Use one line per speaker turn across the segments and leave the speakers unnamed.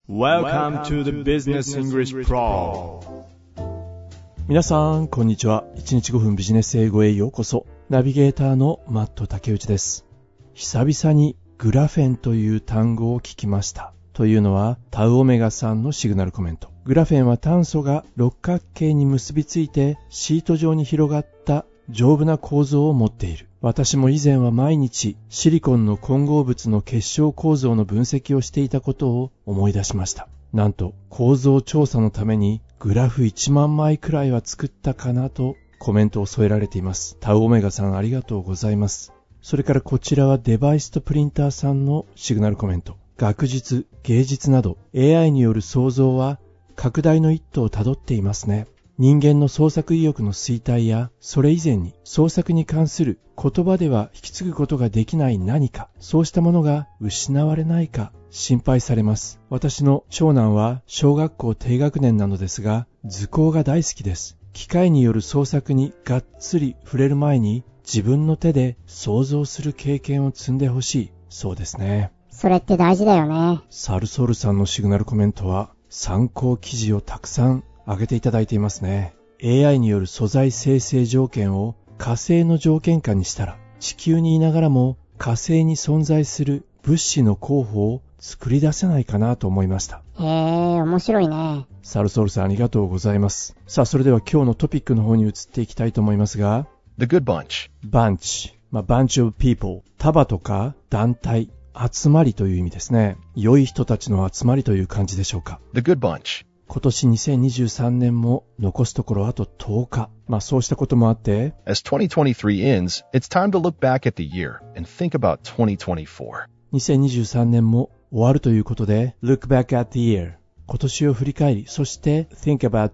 Welcome to the Business English Pro。
皆さんこんにちは。1日5分ビジネス英語へようこそ。ナビゲーターのマット竹内です。久々にグラフェンという単語を聞きました。というのはタウオメガさんのシグナルコメント。グラフェンは炭素が六角形に結びついてシート状に広がった丈夫な構造を持っている。私も以前は毎日シリコンの混合物の結晶構造の分析をしていたことを思い出しました。なんと構造調査のためにグラフ1万枚くらいは作ったかなとコメントを添えられています。タウオメガさんありがとうございます。それからこちらはデバイスとプリンターさんのシグナルコメント。学術、芸術など AI による創造は拡大の一途をたどっていますね。人間の創作意欲の衰退や、それ以前に創作に関する言葉では引き継ぐことができない何か、そうしたものが失われないか心配されます。私の長男は小学校低学年なのですが、図工が大好きです。機械による創作にがっつり触れる前に自分の手で想像する経験を積んでほしい。そうですね。
それって大事だよね。
サルソルさんのシグナルコメントは参考記事をたくさん挙げていただいていますね。 AI による素材生成条件を火星の条件下にしたら地球にいながらも火星に存在する物資の候補を作り出せないかなと思いました。
へえ、面白いね。
サルソルさんありがとうございます。さあそれでは今日のトピックの方に移っていきたいと思いますが、
The Good Bunch。
Bunch、Bunch of people、 束とか団体、集まりという意味ですね。良い人たちの集まりという感じでしょうか。
The Good Bunch。
今年2023年も残すところあと10日。そうしたこともあって、
As 2023 ends, it's time to look back at the year and think about 2024.
2023年も終わるということで、Look back at the year。今年を振り返り、そして Think about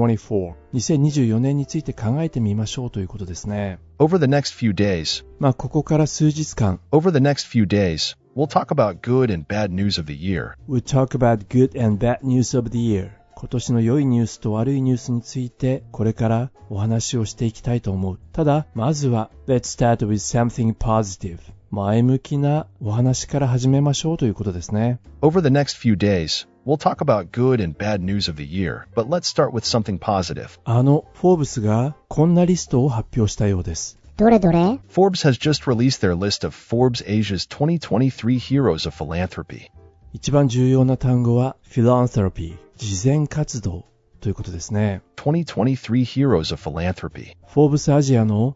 2024。2024年について考えてみましょうということですね。
Over the next few days,
ここから数日間、
Over the next few days, we'll talk about good and bad news of the year.
We'll talk about good and bad news of the year。今年の良いニュースと悪いニュースについてこれからお話をしていきたいと思う。ただまずは Let's start with something positive。 前向きなお話から始めましょうということですね。
Over the next few days, we'll talk about good and bad news of the year, but let's start with something positive.
フォーブスがこんなリストを発表したようです。
どれどれ？
Forbes has just released their list of Forbes Asia's 2023 heroes of philanthropy.
一番重要な単語は philanthropy、慈善活動ということですね。
2023 heroes of philanthropy。
フォーブスアジアの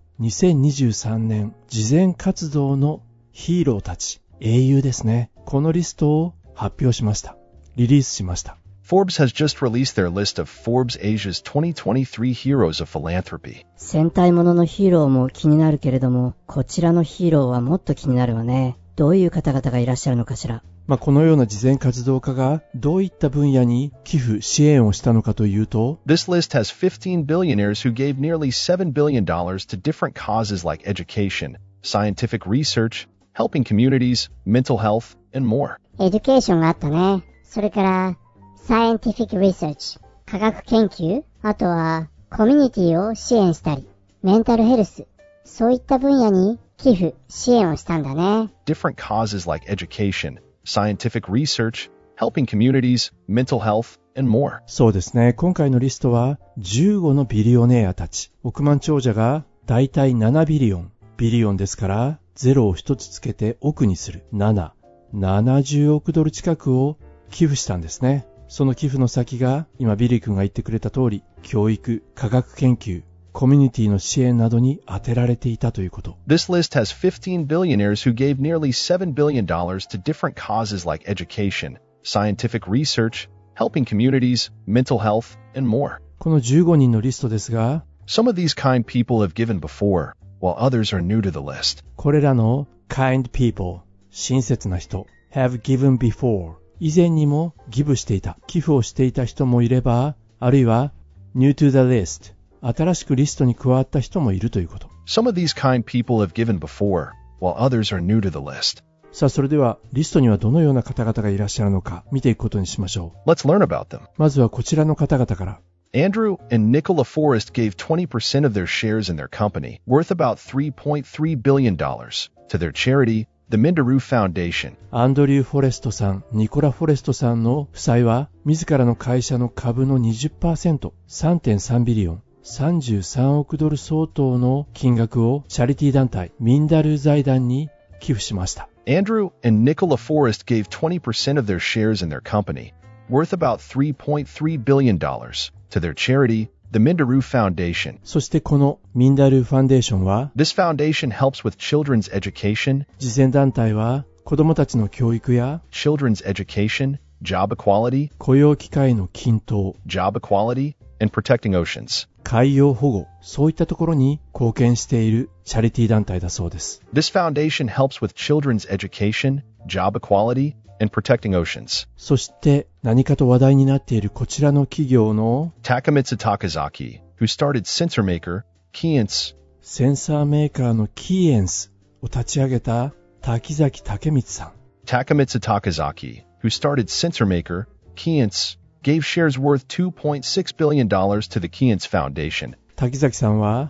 2023年慈善活動のヒーローたち、英雄ですね。このリストを発表しました。リリースしました。
Forbes has just released their list of Forbes Asia's 2023 heroes of philanthropy.
戦隊もののヒーローも気になるけれども、こちらのヒーローはもっと気になるわね。どういう方々がいらっしゃるのかしら。
このような慈善活動家がどういった分野に寄付支援をしたのかというと、
This list has 15 billionaires who gave nearly $7 billion to different causes like education, scientific research, helping communities, mental health, and more.
エデュケーションがあったね。それからサイエンティフィックリサーチ、科学研究、あとはコミュニティを支援したり、メンタルヘルス、そういった分野に寄付支援をしたんだね。
Different causes like education, scientific research, helping communities, mental health, and more.
そうですね。今回のリストは15のビリオネアたち。億万長者がだいたい7ビリオン。ビリオンですから0を1つつけて億にする。70億ドル近くを寄付したんですね。その寄付の先が今ビリー君が言ってくれた通り、教育、科学研究、コミュニティの支援などに充てられていたということ。
This list has 15 billionaires who gave nearly $7 billion to different causes like education, scientific research, helping communities, mental health, and more.
この15人のリストですが、
Some of these kind people have given before, while others are new to the list.
これらの kind people、親切な人、have given before、以前にもギブしていた、寄付をしていた人もいれば、あるいは new to the list、新しくリストに加わった人もいるということ。
Some of these kind people have given before, while others are new to the list.
さあそれではリストにはどのような方々がいらっしゃるのか見ていくことにしましょう。
Let's learn about them.
まずはこちらの方々から。
Andrew and Nicola Forrest gave 20% of their shares in their company, worth about $3.3 billion, to their charity, the Minderoo Foundation.
アンドリュー・フォレストさん、ニコラ・フォレストさんの夫妻は、自らの会社の株の 20%、3.3 ビリオン、33億ドル相当の金額をチャリティー団体、ミンダルー財団に寄付しました。
Andrew and Nicola Forrest gave 20% of their shares in their company, worth about $3.3 billion, to their charity, the Minderoo Foundation.
そしてこのミンダルーファンデーションは、
This foundation helps with children's education,
慈善団体は子どもたちの教育や
children's education, job equality,
雇用機会の均等、
job equality, and protecting oceans.
海洋保護、そういったところに貢献しているチャリティー団体だそうです。
This foundation helps with children's education, job equality, and protecting oceans.
そして何かと話題になっているこちらの企業の
Takemitsu Takazaki, who started sensor maker, Keyence,
センサーメーカーのキーエンスを立ち上げた滝崎武光さん。
Takemitsu Takazaki, who started sensor maker, Keyence, gave shares worth $2.6 billion to the Keyence Foundation.
滝崎さんは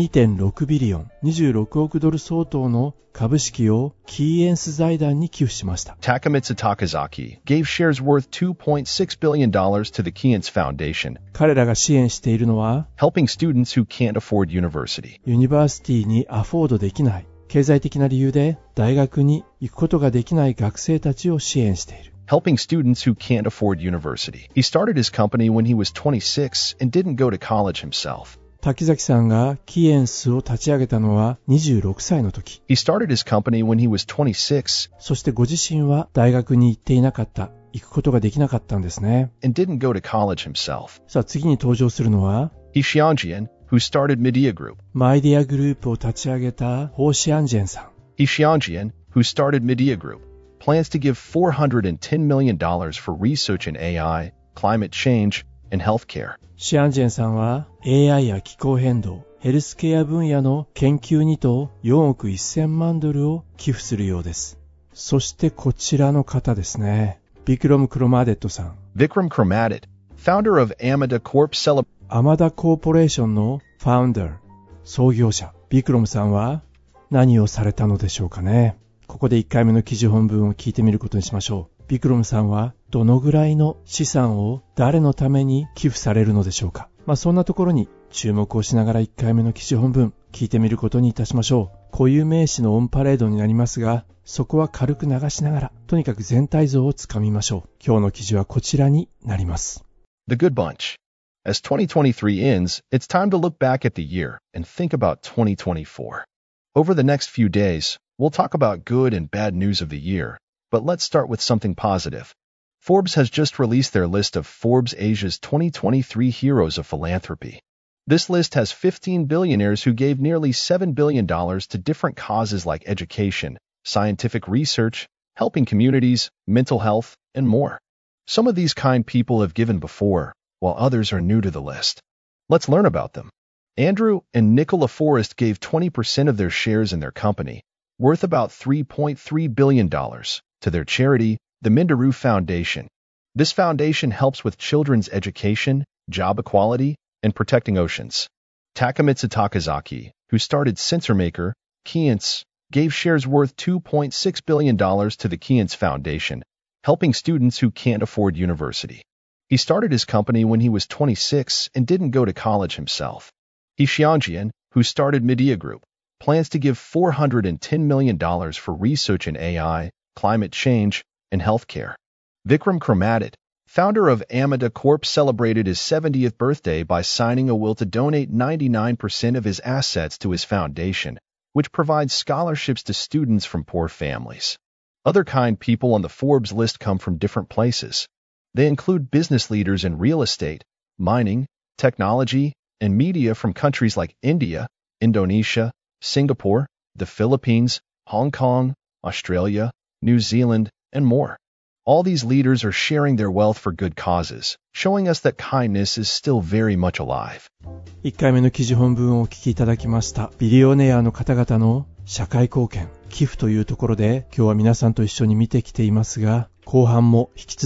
2.6 ビリオン、26億ドル相当の株式をキーエンス財団に寄付しました。
Takemitsu Takazaki gave shares worth $2.6 billion to the Keyence Foundation,
彼らが支援しているのは、
helping students who can't afford university.
ユニバーシティにアフォードできない、経済的な理由で大学に行くことができない学生たちを支援している。
Helping students who can't afford university. He started his company when he was 26 and didn't go to college himself.
滝崎さんがキーエンスを立ち上げたのは26歳の時。
He started his company when he was 26
そしてご自身は大学に行っていなかった、行くことができなかったんですね。
and didn't go to college himself.
さあ次に登場するのは、
He Xianjian, who started Media Group.
マイディアグループを立ち上げたホーシアンジェンさん。
He Xianjian, who started Media Group, plans to give $410 million for research in AI, climate change, and healthcare.
シアンジェンさんは AI や気候変動、ヘルスケア分野の研究にと4億1000万ドルを寄付するようです。そしてこちらの方ですね。ビクロム・クロマーデットさん。
Vikram Kramadit, founder of Amada Corp.
アマダコーポレーションのファウンダー、創業者、ビクロムさんは何をされたのでしょうかね。ここで1回目の記事本文を聞いてみることにしましょう。ビクロムさんはどのぐらいの資産を誰のために寄付されるのでしょうか。そんなところに注目をしながら1回目の記事本文聞いてみることにいたしましょう。固有名詞のオンパレードになりますが、そこは軽く流しながら、とにかく全体像をつかみましょう。今日の記事はこちらになります。
The Good Bunch. As 2023 ends, it's time to look back at the year and think about 2024. Over the next few days, we'll talk about good and bad news of the year, but let's start with something positive. Forbes has just released their list of Forbes Asia's 2023 Heroes of Philanthropy. This list has 15 billionaires who gave nearly $7 billion to different causes like education, scientific research, helping communities, mental health, and more. Some of these kind people have given before, while others are new to the list. Let's learn about them. Andrew and Nicola Forrest gave 20% of their shares in their company, worth about $3.3 billion, to their charity, the Minderoo Foundation. This foundation helps with children's education, job equality, and protecting oceans. Takemitsu Takazaki, who started Sensor Maker, Keyence, gave shares worth $2.6 billion to the Keyence Foundation, helping students who can't afford university. He started his company when he was 26 and didn't go to college himself. He Xianjian, who started Media Group, plans to give $410 million for research in AI, climate change, and healthcare. Vikram Kramadit, founder of Amada Corp, celebrated his 70th birthday by signing a will to donate 99% of his assets to his foundation, which provides scholarships to students from poor families. Other kind people on the Forbes list come from different places. They include business leaders in real estate, mining, technology, and media from countries like India, Indonesia, Singapore, the Philippines, Hong Kong, Australia, New Zealand, and more. All these leaders are sharing their wealth for good causes, showing us that kindness is still very much alive.
1回目の記事本文をお聞きいただきました。ビリオネアの方々の社会貢献、寄付というところで今日は皆さんと一緒に見てきていますが、後半も引き続き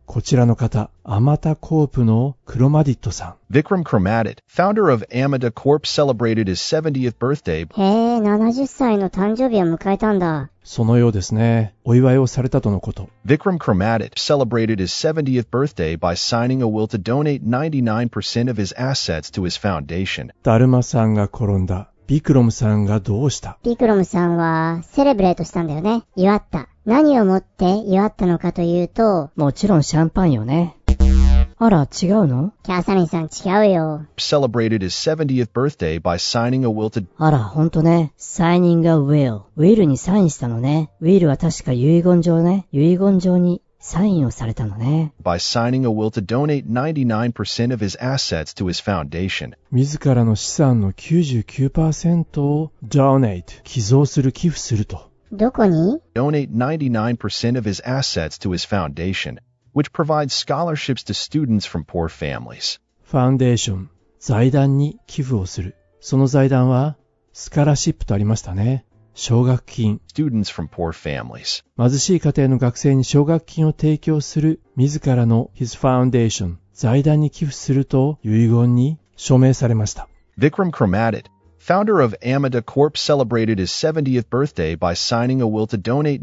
こちらの方、アマタコープのクロマディットさん。
Vikram Kromadit, founder of Amata Corp, celebrated his 70th birthday.
へえ、70歳の誕生日を迎えたんだ。
そのようですね。お祝いをされたとのこと。
Vikram Kromadit celebrated his 70th birthday by signing a will to donate 99% of his assets to his foundation.
だるまさんが転んだ。ビクロムさんがどうした？
ビクロムさんはセレブレートしたんだよね。祝った。何をもって祝ったのかというと、
もちろんシャンパンよね。あら、違うの？
キャサリンさん違うよ。
Celebrated his 70th birthday by signing a will to
あら、ほんとね。サイニングアウィル。ウィルにサインしたのね。ウィルは確か遺言状ね。遺言状にサインをされたのね。
by signing a will to donate 99% of his assets to his foundation.
自らの資産の 99% を donate 寄贈する、寄付すると。
どこに？
Donate 99% of his assets to his foundation, which provides scholarships to students from poor families.
ファウンデーション、財団に寄付をする。その財団はスカラシップとありましたね。奨学金。
Students from poor families.
貧しい家庭の学生に奨学金を提供する自らの his foundation 財団に寄付すると遺言に署名されました。
Vikram Kromadit, founder of Amata Corp, celebrated his 70th birthday by signing a will to donate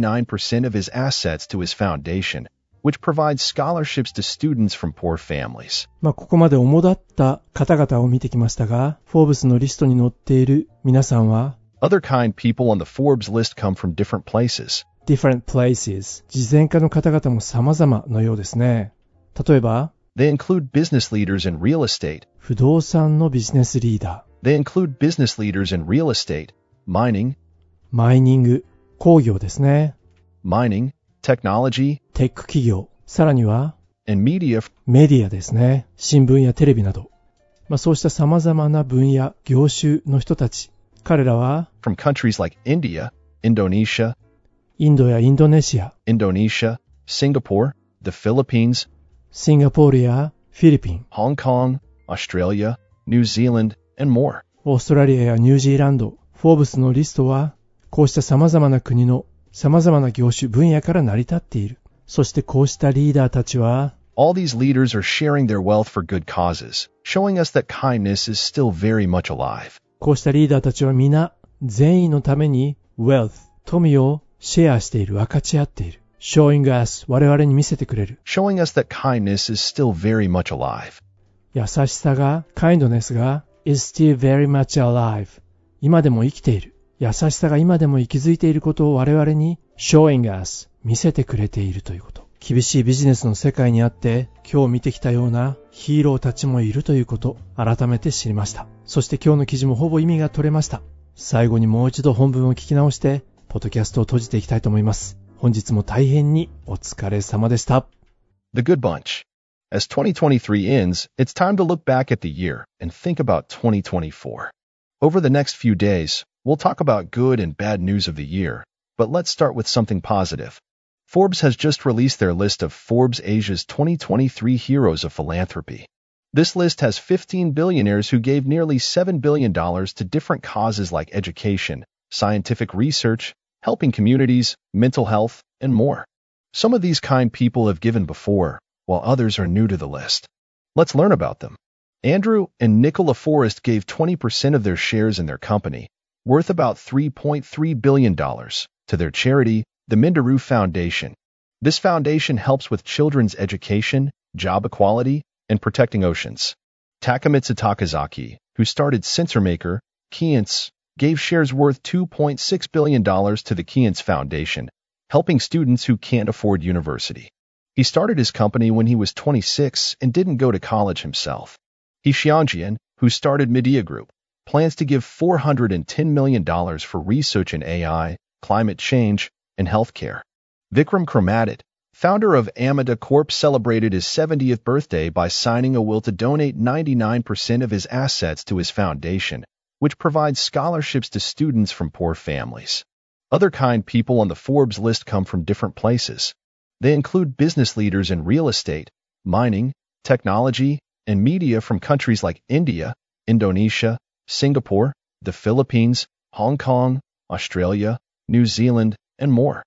99% of his assets to his foundation, which provides scholarships to students from poor families.
ここまで主だった方々を見てきましたが、フォーブスのリストに載っている皆さんは
Other kind people on the Forbes list come from different places.
different places 慈善家の方々も様々のようですね。例えば
They include business leaders in real estate.
不動産のビジネスリーダ
They include business leaders in real estate, mining,
ー、マイニング、工業ですね。
mining, technology,
テック企業、さらには
and media.
メディアですね。新聞やテレビなど。そうした様々な分野、業種の人たち。彼らは
From countries like India, Indonesia,
インドやインドネシア、
Indonesia, Singapore, the Philippines,
シンガポールやフィリピン、
Hong Kong, Australia, New Zealand, and more.
オーストラリアやニュージーランド、フォーブスのリストは、こうした様々な国の様々な業種分野から成り立っている。そしてこうしたリーダーたちは、
All these leaders are sharing their wealth for good causes, showing us that kindness is still very much alive.
こうしたリーダーたちは皆、善意のために wealth、富をシェアしている、分かち合っている。showing us、我々に見せてくれる。
Showing us that kindness is still very much alive.
優しさが、kindness が is still very much alive。今でも生きている。優しさが今でも息づいていることを我々に showing us、見せてくれているということ。厳しいビジネスの世界にあって、今日見てきたようなヒーローたちもいるということ、改めて知りました。そして今日の記事もほぼ意味が取れました。最後にもう一度本文を聞き直して、ポッドキャストを閉じていきたいと思います。本日も大変にお疲れ様でした。
The Good Bunch. As 2023 ends, it's time to look back at the year and think about 2024. Over the next few days, we'll talk about good and bad news of the year, but let's start with something positive. Forbes has just released their list of Forbes Asia's 2023 Heroes of Philanthropy. This list has 15 billionaires who gave nearly $7 billion to different causes like education, scientific research, helping communities, mental health, and more. Some of these kind people have given before, while others are new to the list. Let's learn about them. Andrew and Nicola Forrest gave 20% of their shares in their company, worth about $3.3 billion, to their charity, the Mindaru Foundation. This foundation helps with children's education, job equality, and protecting oceans. Takamitsu Takazaki, who started SensorMaker, Kientz, gave shares worth $2.6 billion to the Kientz Foundation, helping students who can't afford university. He started his company when he was 26 and didn't go to college himself. He Xiangjian, who started Media Group, plans to give $410 million for research in AI, climate change, and healthcare. Vikram Kromadit, founder of Amata Corp, celebrated his 70th birthday by signing a will to donate 99% of his assets to his foundation, which provides scholarships to students from poor families. Other kind people on the Forbes list come from different places. They include business leaders in real estate, mining, technology, and media from countries like India, Indonesia, Singapore, the Philippines, Hong Kong, Australia, New Zealand, and more.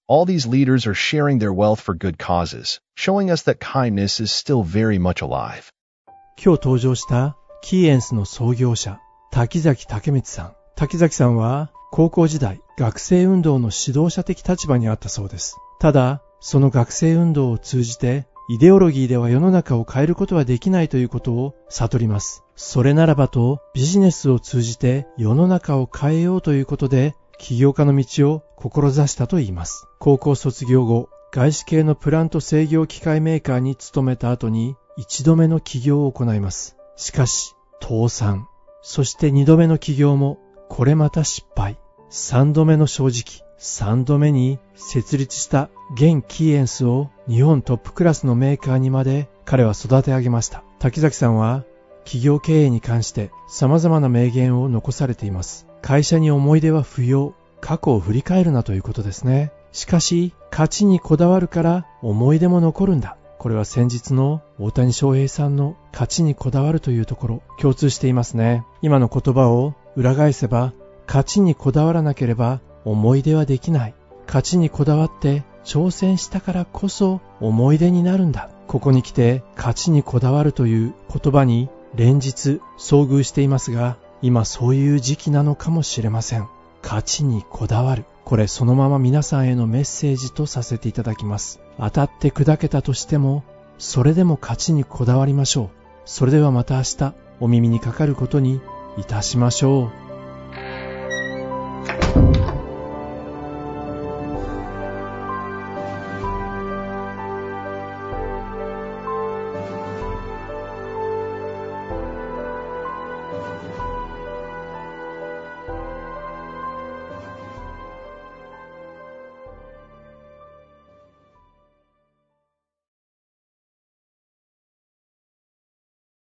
All these leaders are sharing their wealth for good causes, showing us that kindness is still very much alive.
今日登場したキーエンスの創業者、滝崎武光さん。滝崎さんは高校時代、学生運動の指導者的立場にあったそうです。ただ、その学生運動を通じて、イデオロギーでは世の中を変えることはできないということを悟ります。それならばと、ビジネスを通じて世の中を変えようということで、起業家の道を志したと言います。高校卒業後、外資系のプラント制御機械メーカーに勤めた後に、一度目の起業を行います。しかし、倒産。そして二度目の起業も、これまた失敗。三度目の正直。三度目に設立した現キーエンスを日本トップクラスのメーカーにまで彼は育て上げました。滝崎さんは企業経営に関して様々な名言を残されています。会社に思い出は不要。過去を振り返るなということですね。しかし、勝ちにこだわるから思い出も残るんだ。これは先日の大谷翔平さんの勝ちにこだわるというところ、共通していますね。今の言葉を裏返せば、勝ちにこだわらなければ思い出はできない。勝ちにこだわって挑戦したからこそ思い出になるんだ。ここに来て勝ちにこだわるという言葉に連日遭遇していますが、今そういう時期なのかもしれません。勝ちにこだわる。これそのまま皆さんへのメッセージとさせていただきます。当たって砕けたとしても、それでも勝ちにこだわりましょう。それではまた明日お耳にかかることにいたしましょう。